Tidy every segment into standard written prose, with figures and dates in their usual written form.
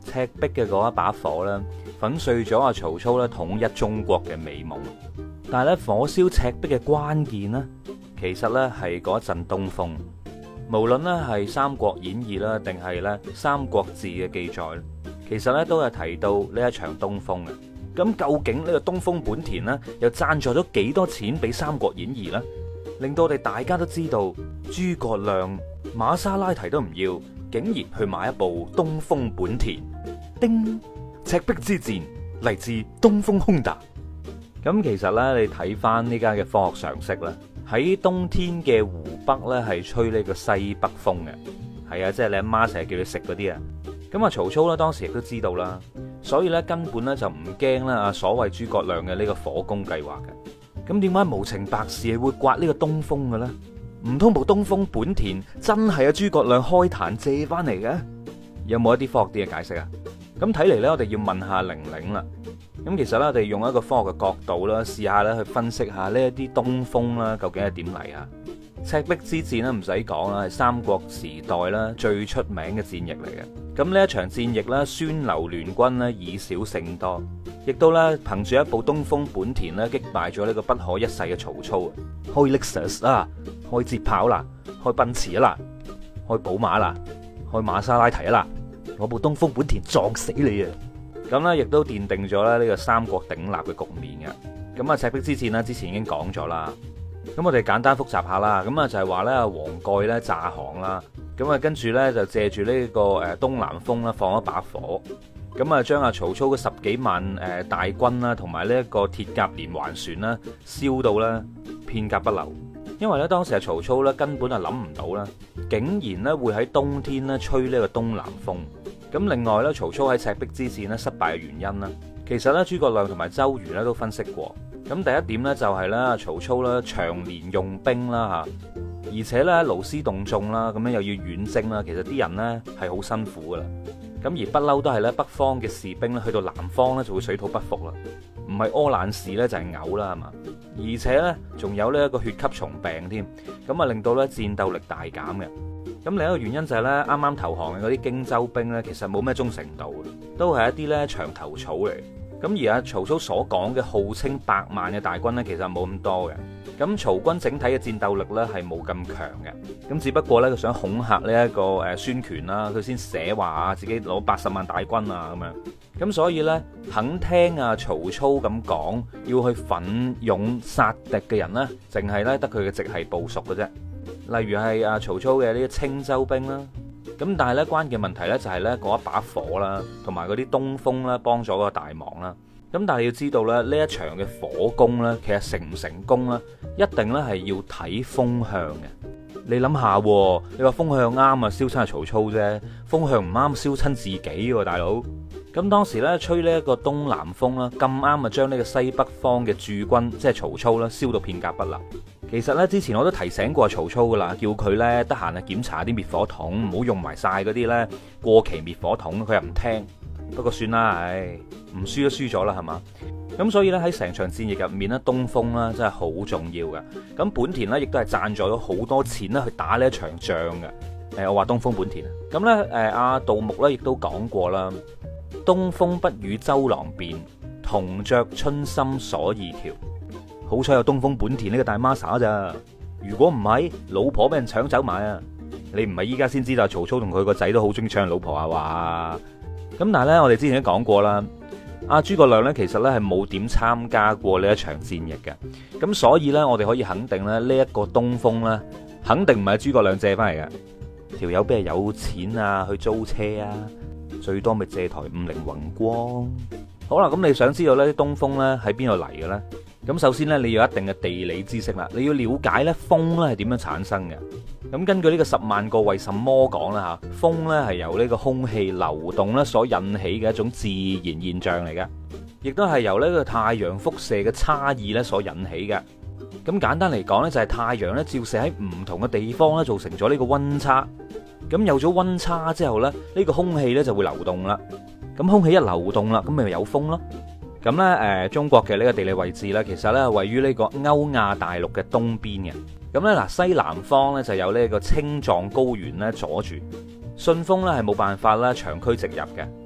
赤壁嘅嗰一把火咧，粉碎咗阿曹操咧統一中國嘅美夢。但係咧，火燒赤壁嘅關鍵呢，其實咧係嗰一陣東風。無論咧係《三國演義》啦，定係咧《三國志》嘅記載，其實咧都係提到呢一場東風嘅。咁究竟呢個東風本田呢，又贊助咗幾多錢俾《三國演義》呢？令到我哋大家都知道，諸葛亮瑪莎拉蒂都唔要，竟然去買一部東風本田。叮！赤壁之戰嚟自東風 Honda。咁其實呢，你睇翻呢家嘅科學常識啦，喺冬天嘅湖北呢，係吹呢個西北風嘅。係啊，即係你阿媽成日叫你食嗰啲啊。咁啊，曹操呢，當時亦都知道啦，所以呢，根本呢，就唔驚啦啊所謂諸葛亮嘅呢個火攻計劃嘅。咁點解無情白事係會刮呢個東風嘅咧？唔通部東風本田真係阿諸葛亮開壇借翻嚟嘅？有冇一啲科學啲嘅解釋啊？咁睇嚟呢，我哋要問下玲玲啦。咁其實咧，我哋用一個科學嘅角度啦，試下咧去分析下呢一啲東風啦，究竟係點嚟啊？赤壁之戰咧唔使講啦，係三國時代啦最出名嘅戰役嚟嘅。咁呢一場戰役咧，孫劉聯軍咧以少勝多，亦都咧憑住一部東風本田咧擊敗咗呢個不可一世嘅曹操。開 Lexus 啦，開捷豹啦，開奔馳啦，開寶馬啦，開瑪莎拉蒂啦，攞部東風本田撞死你啊！咁咧亦都奠定咗咧呢個三國鼎立嘅局面嘅。咁啊，赤壁之戰咧之前已經講咗啦。咁我哋簡單複習下啦。咁啊就係話咧黃蓋咧詐降啦。咁啊跟住咧就借住呢個東南風啦放一把火。咁啊將阿曹操嘅10幾萬大軍啦同埋呢一個鐵甲連環船啦燒到咧片甲不留。因為咧當時阿曹操咧根本就諗唔到啦，竟然咧會喺冬天咧吹呢個東南風。咁另外咧，曹操喺赤壁之戰咧失敗嘅原因啦，其實咧諸葛亮同埋周瑜咧都分析過。咁第一點咧就係咧曹操咧長年用兵啦嚇，而且咧勞師動眾啦，咁樣又要遠征啦，其實啲人咧係好辛苦噶啦。咁而不嬲都係咧北方嘅士兵咧去到南方咧就會水土不服啦，唔係屙爛屎咧就係嘔啦係嘛。而且咧仲有呢一個血吸蟲病添，咁啊令到咧戰鬥力大減嘅。咁另一個原因就係咧，啱啱投降嘅嗰啲荊州兵咧，其實冇咩忠誠度，都係一啲咧牆頭草嚟。咁而阿曹操所講嘅號稱100萬嘅大軍咧，其實冇咁多嘅。咁曹軍整體嘅戰鬥力咧係冇咁強嘅。咁只不過咧佢想恐嚇呢一個孫權啦，佢先寫話啊自己攞80萬大軍啊咁樣。咁所以咧肯聽阿曹操咁講，要去奮勇殺敵嘅人咧，淨係咧得佢嘅直系部屬嘅啫。例如係阿曹操嘅呢啲青州兵啦，咁但係咧關鍵問題咧就係咧嗰一把火啦，同埋嗰啲東風啦幫咗個大忙啦。咁但係要知道咧呢一場嘅火攻咧，其實成唔成功咧，一定咧係要睇風向嘅。你諗下，你話風向啱啊，燒親係曹操啫；風向唔啱，燒親自己喎，大佬。咁當時咧吹呢一個東南風啦，咁啱啊將呢個西北方嘅駐軍，即係曹操啦，燒到片甲不留。其實咧之前我都提醒過曹操噶啦，叫佢咧得閒啊檢查啲滅火筒，唔好用埋晒嗰啲咧過期滅火筒，佢又唔聽。不過算啦，唉，唔輸都輸咗啦，係嘛？咁所以咧喺成場戰役入面咧，東風啦真係好重要嘅。咁本田咧亦都係贊助咗好多錢啦去打呢一場仗嘅。我話東風本田啊。咁咧阿杜牧咧亦都講過啦，東風不與周郎便，銅雀春心鎖二條。好彩有東風本田呢個大孖沙咋，如果唔係，老婆俾人搶走埋啊！你唔係依家先知道曹操同佢個仔都好中意搶老婆啊話。咁但係咧，我哋之前都講過啦，阿諸葛亮咧其實咧係冇點參加過呢一場戰役嘅。咁所以咧，我哋可以肯定咧，呢一個東風咧，肯定唔係諸葛亮借翻嚟嘅。條友邊係有錢啊去租車啊？最多咪借台50宏光。好啦，咁你想知道呢啲東風咧喺邊度嚟嘅咧？咁首先咧，你要有一定嘅地理知識啦，你要了解咧風咧係點樣產生嘅。咁根據呢個10萬個為什麼講啦嚇，風咧係由呢個空氣流動咧所引起嘅一種自然現象嚟嘅，亦都係由呢個太陽輻射嘅差異咧所引起嘅。咁簡單嚟講咧，就係太陽咧照射喺唔同嘅地方咧，造成咗呢個溫差。咁有咗溫差之後咧，呢個空氣咧就會流動啦。咁空氣一流動啦，咁咪有風咯。咁咧，中國嘅呢個地理位置咧，其實咧位於呢個歐亞大陸嘅東邊嘅。咁咧嗱，西南方咧就有呢個青藏高原咧阻住，順風咧係冇辦法啦長驅直入嘅。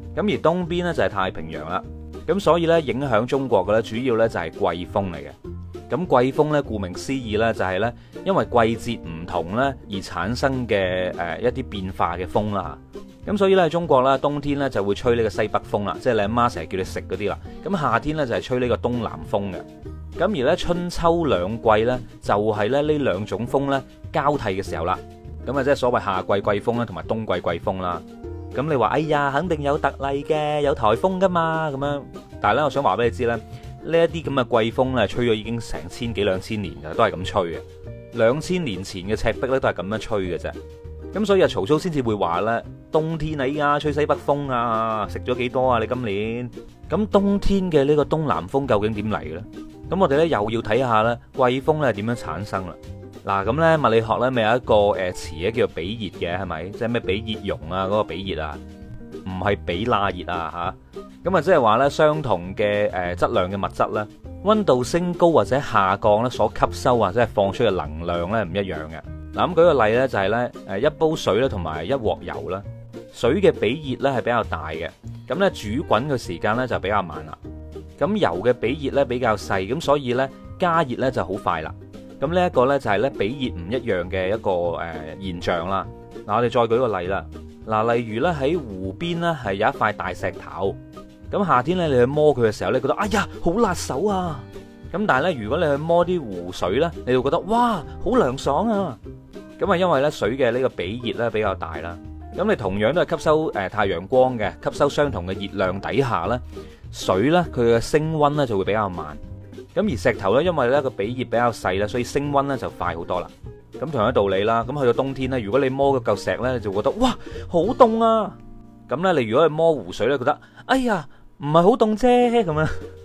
咁而東邊呢，就係太平洋啦。咁所以呢，影響中國嘅咧主要呢，就係季風嚟嘅。咁季風呢，顧名思義呢，就係呢，因為季節唔同呢而產生嘅一啲變化嘅風啦。咁所以呢，中國啦冬天呢就會吹呢個西北風啦，即係你阿媽成日叫你食嗰啲啦。咁夏天呢，就係吹呢個東南風嘅。咁而呢，春秋兩季呢，就係咧呢兩種風呢交替嘅時候啦。咁啊即係所謂夏季季風啦，同埋冬季季風啦。咁你話哎呀，肯定有特例嘅，有颱風噶嘛咁樣。但係咧，我想話俾你知咧，呢一啲咁嘅季風咧，吹咗已經成千幾兩千年嘅，都係咁吹嘅。2000年前嘅赤壁咧，都係咁樣吹嘅啫。咁所以啊，曹操先至會話咧，冬天啊依家吹西北風啊，食咗幾多啊？你今年咁冬天嘅呢個東南風究竟點嚟嘅咧？咁我哋咧又要睇下咧，季風咧點樣產生啦？嗱，咁咧物理學咧咪有一個詞咧叫做比熱嘅，係咪？即係咩比熱容啊？嗰個比熱啊，唔係比那熱啊嚇。咁啊，即係話咧，相同嘅質量嘅物質咧，溫度升高或者下降咧，所吸收或者係放出嘅能量咧唔一樣嘅。嗱，咁舉個例咧，就係咧一煲水咧同埋一鑊油啦，水嘅比熱咧係比較大嘅，咁咧煮滾嘅時間咧就比較慢啦。咁油嘅比熱咧比較細，咁所以咧加熱咧就好快啦。咁呢一個咧就係咧比熱唔一樣嘅一個現象啦。嗱，我哋再舉個例啦。嗱，例如咧喺湖邊咧係有一塊大石頭，咁夏天咧你去摸佢嘅時候咧，覺得哎呀好辣手啊。咁但係咧如果你去摸啲湖水咧，你就覺得哇好涼爽啊。咁啊因為咧水嘅呢個比熱咧比較大啦。咁你同樣都係吸收太陽光嘅，吸收相同嘅熱量底下咧，水咧佢嘅升溫咧就會比較慢。咁而石頭咧，因為咧個比熱比較細啦，所以升溫咧就快好多啦。咁同樣道理啦，咁去到冬天咧，如果你摸嗰嚿石咧，你就覺得哇好凍啊。咁咧，你如果去摸湖水咧，覺得哎呀唔係好凍啫咁樣。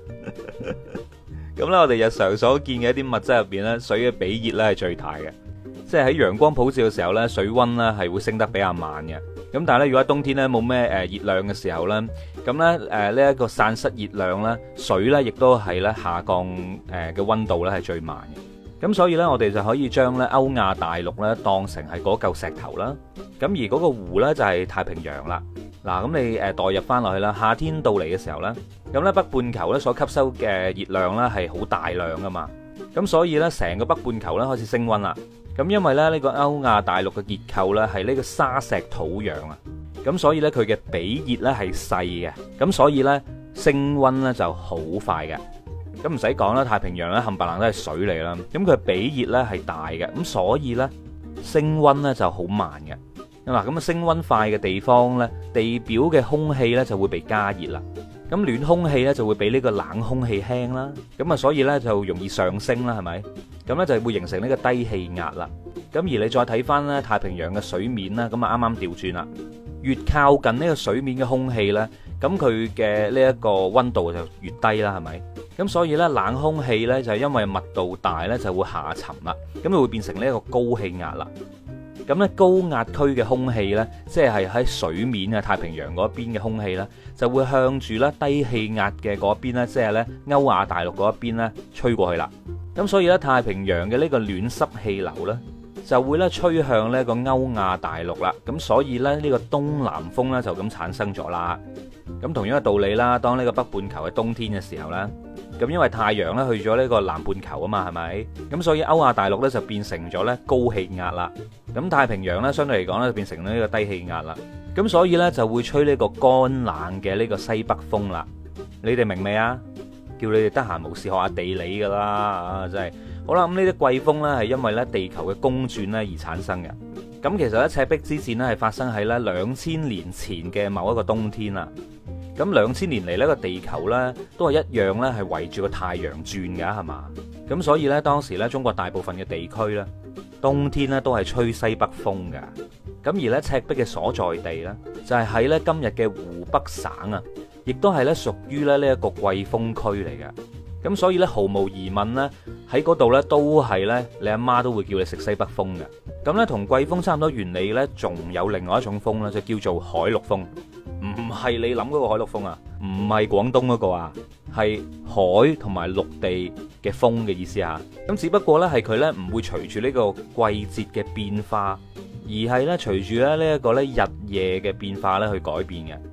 咁咧，我哋日常所見嘅一啲物質入邊咧，水嘅比熱咧係最大嘅。即係喺陽光普照嘅時候咧，水溫咧係會升得比較慢嘅。咁但係咧，如果喺冬天咧冇咩熱量嘅時候咧，咁咧呢一個散失熱量咧，水咧亦都係咧下降嘅溫度咧係最慢嘅。咁所以咧，我哋就可以將咧歐亞大陸咧當成係嗰嚿石頭啦。咁而嗰個湖咧就係太平洋啦。嗱，咁你代入翻落去啦，夏天到嚟嘅時候咧，咁咧北半球咧所吸收嘅熱量咧係好大量噶嘛。咁所以咧成個北半球咧開始升溫啦。咁因為咧呢個歐亞大陸嘅結構咧係呢個沙石土壤啊，咁所以咧佢嘅比熱咧係細嘅，咁所以咧升溫咧就好快嘅。咁唔使講啦，太平洋咧冚唪唥都係水嚟啦，咁佢比熱咧係大嘅，咁所以咧升溫咧就好慢嘅。嗱，咁啊升溫快嘅地方咧，地表嘅空氣咧就會被加熱啦，咁暖空氣咧就會比呢個冷空氣輕啦，咁啊所以咧就容易上升啦，係咪？咁咧就會形成呢個低氣壓啦。咁而你再睇翻咧太平洋嘅水面啦，咁啊啱啱調轉啦，越靠近呢個水面嘅空氣咧，咁佢嘅呢一個溫度就越低啦，係咪？咁所以咧冷空氣咧就係因為密度大咧就會下沉啦，咁就會變成呢一個高氣壓啦。咁咧高壓區嘅空氣咧，即係喺水面啊太平洋嗰邊嘅空氣咧，就會向住咧低氣壓嘅嗰邊咧，即係咧歐亞大陸嗰一邊咧吹過去啦。咁所以咧太平洋嘅呢個暖濕氣流咧，就會咧吹向呢個歐亞大陸啦。咁所以咧呢個東南風咧就咁產生咗啦。咁同樣嘅道理啦，當呢個北半球嘅冬天嘅時候咧，咁因為太陽咧去咗呢個南半球啊嘛，係咪？咁所以歐亞大陸咧就變成咗咧高氣壓啦。咁太平洋咧相對嚟講咧就變成呢個低氣壓啦。咁所以咧就會吹呢個乾冷嘅呢個西北風啦。你哋明未啊？叫你哋得閒無事學下地理噶啦，啊真係好啦。咁呢啲季風咧係因為咧地球嘅公轉咧而產生嘅。咁其實咧赤壁之戰咧係發生喺咧2000年前嘅某一個冬天啦。咁2000年嚟呢個地球咧都係一樣咧係圍住個太陽轉噶，係嘛？咁所以咧當時咧中國大部分嘅地區咧冬天咧都係吹西北風噶。咁而咧赤壁嘅所在地咧就係喺咧今日嘅湖北省啊，亦都係咧屬於咧呢一個季風區嚟嘅。咁所以咧毫無疑問咧喺嗰度咧都係咧你阿媽都會叫你食西北風嘅。咁咧同季風差唔多原理咧，仲有另外一種風咧，就叫做海陸風。唔係你諗嗰個海陸風啊，唔係廣東嗰個啊，係海同埋陸地嘅風嘅意思啊。咁只不過咧係佢咧唔會隨住呢個季節嘅變化，而係咧隨住咧呢一個咧日夜嘅變化咧去改變嘅。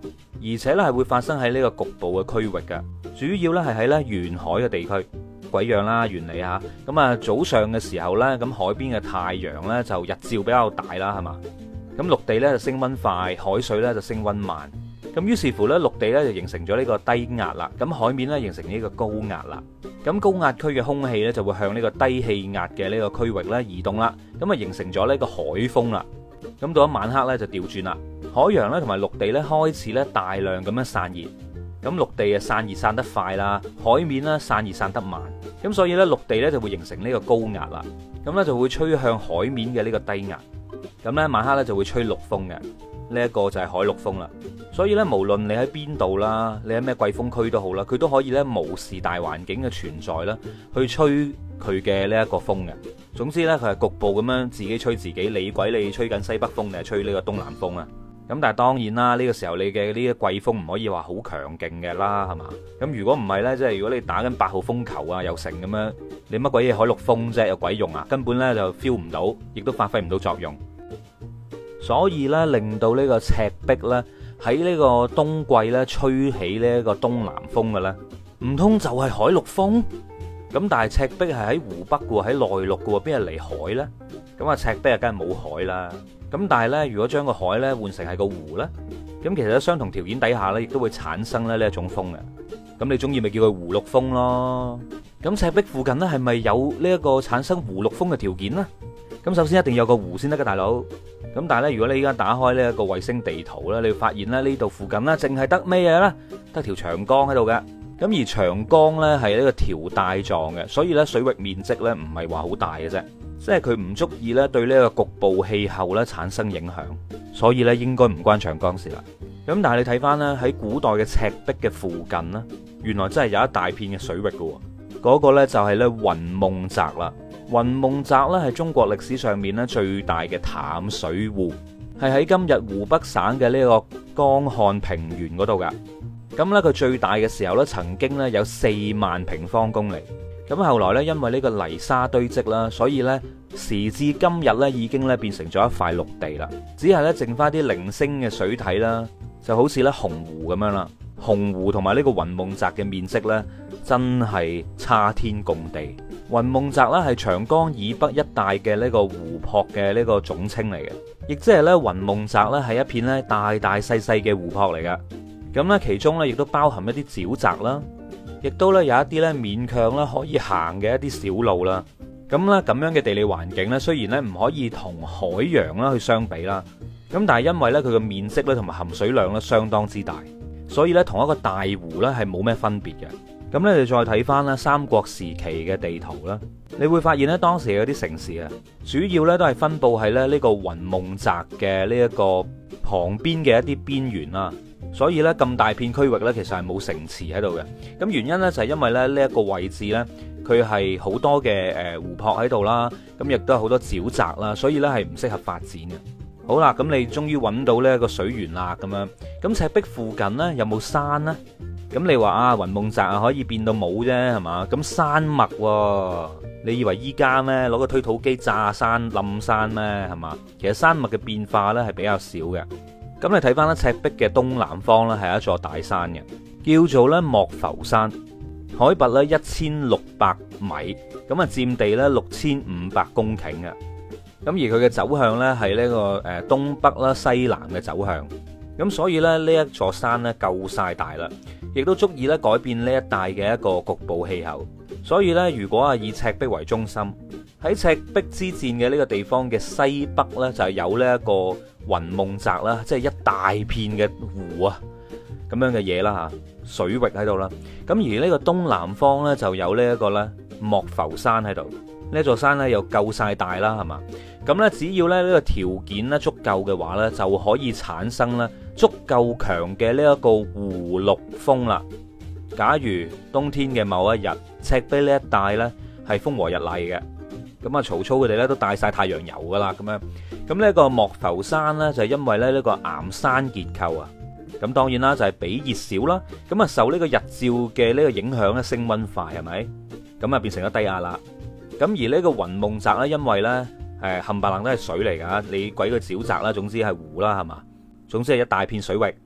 而且咧係會發生喺呢個局部嘅區域嘅，主要咧係喺咧沿海嘅地區。鬼樣啦，原理嚇。咁啊，早上嘅時候咧，咁海邊嘅太陽咧就日照比較大啦，係嘛？咁陸地咧就升溫快，海水咧就升溫慢。咁於是乎咧，陸地咧就形成咗呢個低壓啦，咁海面咧形成呢個高壓啦。咁高壓區嘅空氣咧就會向呢個低氣壓嘅呢個區域咧移動啦，咁啊形成咗呢個海風啦。咁到咗晚黑咧就調轉啦，海洋咧同埋陸地咧開始咧大量咁樣散熱。咁陸地啊散熱散得快啦，海面咧散熱散得慢，咁所以咧陸地咧就會形成呢個高壓啦，咁咧就會吹向海面嘅呢個低壓，咁咧晚黑咧就會吹陸風嘅，呢一個就係海陸風啦。所以咧無論你喺邊度啦，你喺咩季風區都好啦，佢都可以咧無視大環境嘅存在啦，去吹佢嘅呢一個風嘅。總之咧佢係局部咁樣自己吹自己，你鬼你吹緊西北風定係吹呢個東南風啊？咁但係當然啦，呢個時候你嘅呢個季風唔可以話好強勁嘅啦，係嘛？咁如果唔係呢，即係如果你打緊8號風球啊，又成咁樣，你乜鬼嘢海陸風啫，有鬼用啊？根本呢就 feel 唔到，亦都發揮唔到作用。所以呢，令到呢個赤壁呢，喺呢個冬季呢吹起呢一個東南風嘅咧，唔通就係海陸風？咁但係赤壁係喺湖北嘅喎，喺內陸嘅喎，邊係嚟海呢？咁啊赤壁啊，梗係冇海啦。咁但係咧，如果將個海咧換成係個湖咧，咁其實喺相同條件底下咧，亦都會產生咧呢一種風嘅。咁你中意咪叫佢湖陸風咯？咁赤壁附近咧係咪有呢一個產生湖陸風嘅條件呢？咁首先一定有個湖先得㗎，大佬。咁但係咧，如果你依家打開呢一個衛星地圖咧，你會發現咧呢度附近咧淨係得咩嘢咧？得條長江喺度嘅。咁而長江咧係呢個條帶狀嘅，所以咧水域面積咧唔係話好大嘅啫。即係佢唔足以咧對呢個局部氣候咧產生影響，所以咧應該唔關長江事啦。咁但係你睇翻咧喺古代嘅赤壁嘅附近呢，原來真係有一大片嘅水域嘅。嗰個呢就係咧雲夢澤啦。雲夢澤咧係中國歷史上面咧最大嘅淡水湖，係喺今日湖北省嘅呢個江漢平原嗰度噶。咁咧佢最大嘅時候咧曾經咧有4萬平方公里。咁後來咧，因為呢個泥沙堆積啦，所以咧時至今日咧，已經咧變成咗一塊陸地啦。只係咧剩翻啲零星嘅水體啦，就好似咧洪湖咁樣啦。洪湖同埋呢個雲夢澤嘅面積咧，真係差天共地。雲夢澤咧係長江以北一帶嘅呢個湖泊嘅呢個總稱嚟嘅，亦即係咧雲夢澤咧係一片咧大大細細嘅湖泊嚟噶。咁咧其中咧亦都包含一啲沼澤啦。亦都咧有一啲咧勉強咧可以行嘅一啲小路啦，咁咧咁樣嘅地理環境咧，雖然咧唔可以同海洋啦去相比啦，咁但係因為咧佢嘅面積咧同埋含水量咧相當之大，所以咧同一個大湖咧係冇咩分別嘅。咁咧你再睇翻咧三國時期嘅地圖啦，你會發現咧當時嗰啲城市啊，主要咧都係分佈喺咧呢個雲夢澤嘅呢一個旁邊嘅一啲邊緣啦。所以咧咁大片區域咧，其實係冇城池喺度嘅。咁原因咧就係因為咧呢一個位置咧，佢係好多嘅湖泊喺度啦，咁亦都係好多沼澤啦，所以咧係唔適合發展嘅。好啦，咁你終於揾到呢一個水源啦，咁樣。咁赤壁附近咧有冇山呢？咁你話啊，雲夢澤啊可以變到冇啫，係嘛？咁山脈喎，你以為依家咩攞個推土機炸山冧山咩？係嘛？其實山脈嘅變化咧係比較少嘅。咁你睇翻咧赤壁嘅東南方咧係一座大山嘅，叫做咧莫浮山，海拔咧1600米，咁啊佔地咧6500公頃嘅。咁而佢嘅走向咧係呢個東北啦西南嘅走向，咁所以咧呢一座山咧夠晒大啦，亦都足以咧改變呢一帶嘅一個局部氣候。所以咧如果啊以赤壁為中心，喺赤壁之戰嘅呢個地方嘅西北咧就係有呢一個雲夢澤啦，即係一大片嘅湖啊咁樣嘅嘢啦吓，水域喺度啦。咁而呢個東南方咧就有呢一個咧莫浮山喺度，呢座山咧又夠晒大啦，係嘛？咁咧只要咧呢個條件咧足夠嘅話咧，就可以產生咧足夠強嘅呢一個湖陸風啦。假如冬天嘅某一日，赤壁呢一帶咧係風和日麗嘅，咁啊曹操佢哋咧都帶晒太陽油噶啦，咁樣。咁呢個莫浮山咧就係因為咧呢個岩山結構啊，咁當然啦就係比熱少啦，咁啊受呢個日照嘅呢個影響咧升溫快，係咪？咁啊變成咗低壓啦。咁而呢個雲夢澤咧，因為咧冚唪唥都係水嚟噶，你鬼個沼澤啦，總之係湖啦，係嘛？總之係一大片水域。咁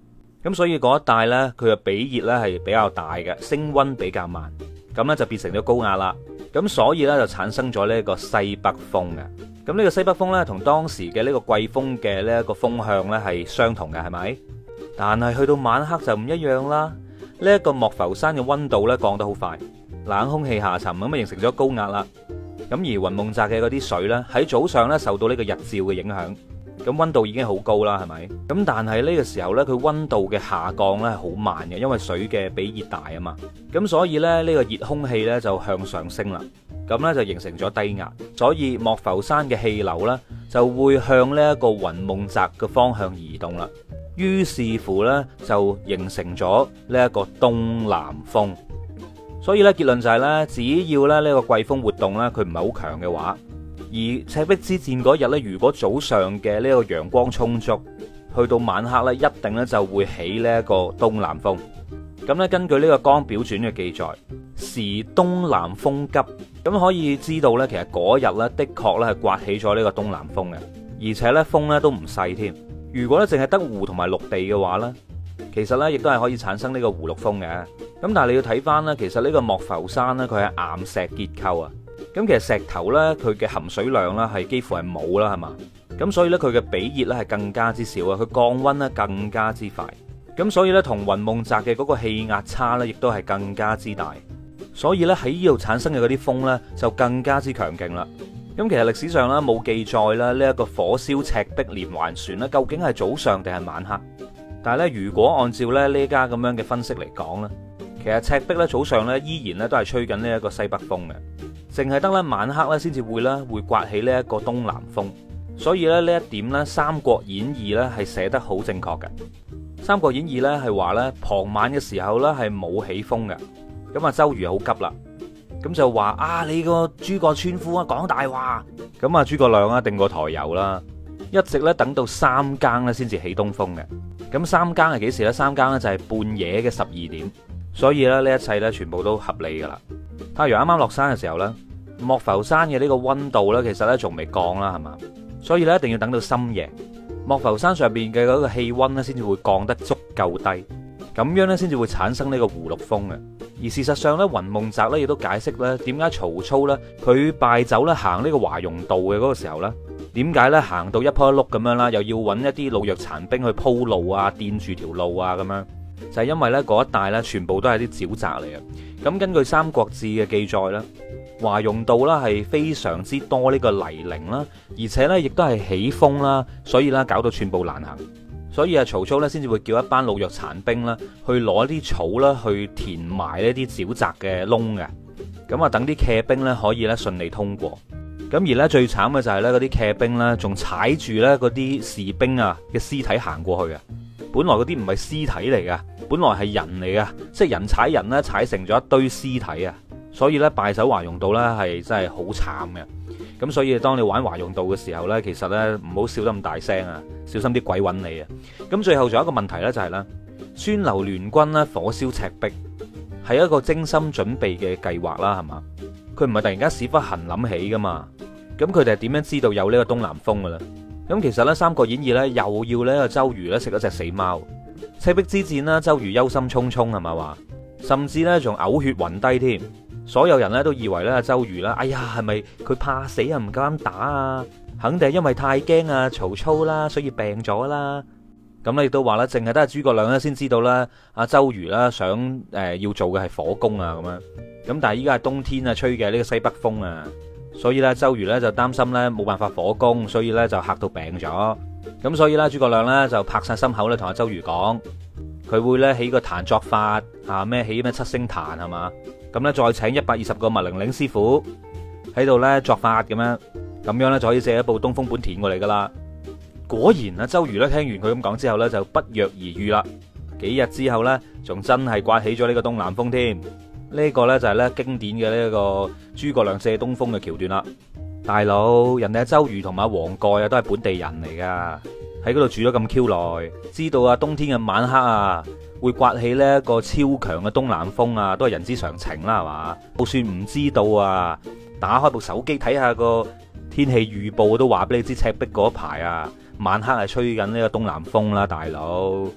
咁所以嗰一帶呢，佢嘅比熱呢係比較大嘅，升溫比較慢，咁呢就變成咗高壓啦。咁所以呢，就產生咗呢個西北風嘅。咁呢個西北風呢，同當時嘅呢個季風嘅呢一個風向呢係相同嘅，係咪？但係去到晚黑就唔一樣啦。呢一個莫浮山嘅溫度呢降得好快，冷空氣下沉，咁啊形成咗高壓啦。咁而雲夢澤嘅嗰啲水呢，喺早上呢受到呢個日照嘅影響，咁溫度已經好高啦，係咪？咁但係呢個時候呢，佢溫度嘅下降呢係好慢嘅，因為水嘅比熱大啊嘛。咁所以呢，呢個熱空氣呢就向上升啦，咁呢就形成咗低壓，所以莫浮山嘅氣流呢就會向呢一個雲夢澤嘅方向移動啦。於是乎呢，就形成咗呢一個東南風。所以咧結論就係咧，只要咧呢個季風活動咧佢唔係好強嘅話，而赤壁之戰嗰日咧，如果早上嘅呢個陽光充足，去到晚黑咧，一定咧就會起呢一個東南風。咁咧根據呢個《江表傳》嘅記載，時東南風急，咁可以知道咧，其實嗰日咧的確咧係刮起咗呢個東南風嘅，而且咧風咧都唔細添。如果咧淨係得湖同埋陸地嘅話咧，其實咧亦都係可以產生呢個湖陸風嘅。咁但係你要睇翻呢，其實呢個莫浮山呢，佢係岩石結構啊。咁其實石頭呢，佢嘅含水量呢係幾乎係冇啦，係嘛？咁所以呢，佢嘅比熱呢係更加之少啊，佢降溫呢更加之快。咁所以呢，同雲夢澤嘅嗰個氣壓差呢，亦都係更加之大。所以呢，喺呢度產生嘅嗰啲風呢，就更加之強勁啦。咁其實歷史上呢，冇記載啦，呢一個火燒赤壁連環船呢，究竟係早上定係晚黑？但係咧，如果按照咧呢家咁樣嘅分析嚟講咧，其實赤壁咧早上咧依然咧都係吹緊呢一個西北風嘅，淨係得咧晚黑咧先至會刮起呢一個東南風。所以咧呢一點咧《三國演義》咧係寫得好正確嘅。《三國演義》咧係話咧傍晚嘅時候咧係冇起風嘅。咁啊周瑜好急啦，咁就話啊你個諸葛村夫啊講大話。咁啊諸葛亮啊定過抬油啦，一直咧等到三更咧先至起東風嘅。咁三更係幾時呢？三更呢就係半夜嘅12點，所以咧呢一切呢全部都合理噶啦。太陽啱啱落山嘅時候呢，莫浮山嘅呢個溫度呢其實呢仲未降啦，係嘛？所以呢一定要等到深夜，莫浮山上邊嘅嗰個氣溫呢先至會降得足夠低，咁樣呢先至會產生呢個湖陸風嘅。而事實上呢，雲夢澤呢亦都解釋呢點解曹操呢佢敗走呢行呢個華容道嘅嗰個時候呢。點解咧行到一坡一碌咁樣啦，又要揾一啲老弱殘兵去鋪路啊，墊住條路啊咁樣，就係因為咧嗰一帶咧全部都係啲沼澤嚟嘅。咁根據《三國志》嘅記載咧，華容道啦係非常之多呢個泥濘啦，而且咧亦都係起風啦，所以咧搞到寸步難行。所以啊，曹操咧先至會叫一班老弱殘兵啦，去攞啲草啦去填埋呢啲沼澤嘅窿嘅，咁啊等啲騎兵咧可以咧順利通過。咁而咧最慘嘅就係咧嗰啲騎兵咧，仲踩住咧嗰啲士兵啊嘅屍體行過去嘅。本來嗰啲唔係屍體嚟噶，本來係人嚟噶，即係人踩人咧，踩成咗一堆屍體啊！所以咧敗走華容道咧係真係好慘嘅。咁所以當你玩華容道嘅時候咧，其實咧唔好笑得咁大聲啊，小心啲鬼揾你啊！咁最後仲有一個問題咧，就係咧孫劉聯軍咧火燒赤壁係一個精心準備嘅計劃啦，係嘛？佢唔係突然間屎忽痕諗起噶嘛？咁佢哋係點樣知道有呢個東南風嘅咧？咁其實咧《三國演義》咧又要呢個周瑜咧食一隻死貓。赤壁之戰啦，周瑜憂心忡忡係咪話？甚至咧仲嘔血暈低添。所有人咧都以為咧周瑜啦，哎呀係咪佢怕死啊唔夠膽打啊？肯定係因為太驚啊曹操啦，所以病咗啦。咁咧亦都話咧，淨係得諸葛亮咧先知道啦，阿周瑜啦想要做嘅係火攻啊咁樣。咁但係依家係冬天啊，吹嘅呢個西北風啊。所以咧，周瑜咧就擔心咧冇辦法火攻，所以咧就嚇到病咗。咁所以咧，諸葛亮咧就拍晒心口咧，同阿周瑜講，佢會咧起個壇作法啊，咩起咩七星壇係嘛？咁咧再請120個麥玲玲師傅喺度咧作法咁樣咧就可以借一部東風本田過嚟噶啦。果然啊，周瑜咧聽完佢咁講之後咧就不藥而癒啦。幾日之後咧，仲真係颳起咗呢個東南風添。呢個呢，就係咧經典嘅呢個諸葛亮借東風嘅橋段啦，大佬，人哋阿周瑜同埋阿黃蓋啊都係本地人嚟噶，喺嗰度住咗咁 Q 耐，知道啊冬天嘅晚黑啊會颳起呢一個超強嘅東南風啊，都係人之常情啦，係嘛？就算唔知道啊，打開部手機睇下個天氣預報都話俾你知，赤壁嗰排啊晚黑係吹緊呢個東南風啦，大佬。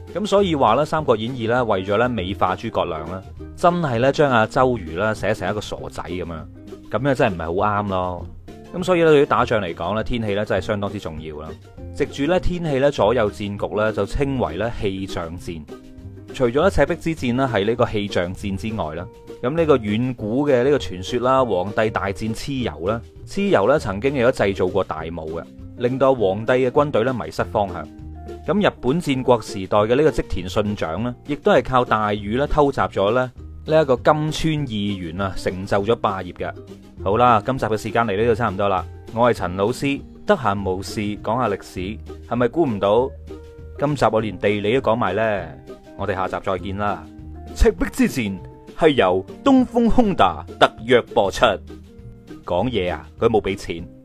咁所以話咧，《三國演義》咧為咗咧美化諸葛亮啦，真係咧將阿周瑜啦寫成一個傻仔咁樣，咁樣真係唔係好啱咯。咁所以咧對於打仗嚟講咧，天氣咧真係相當之重要啦。藉住咧天氣咧左右戰局咧，就稱為咧氣象戰。除咗咧赤壁之戰啦係呢個氣象戰之外啦，咁呢個遠古嘅呢個傳說啦，黃帝大戰蚩尤啦，蚩尤咧曾經亦都製造過大霧嘅，令到黃帝嘅軍隊咧迷失方向。咁日本戰國時代嘅呢個織田信長呢，亦都係靠大雨咧偷襲咗咧呢一個金川義元啊，成就咗霸業嘅。好啦，今集嘅時間嚟呢度差唔多啦。我係陳老師，得閒無事講下歷史，係咪估唔到今集我連地理都講埋呢？我哋下集再見啦。赤壁之戰係由東風 Honda 特約播出。講嘢啊，佢冇俾錢。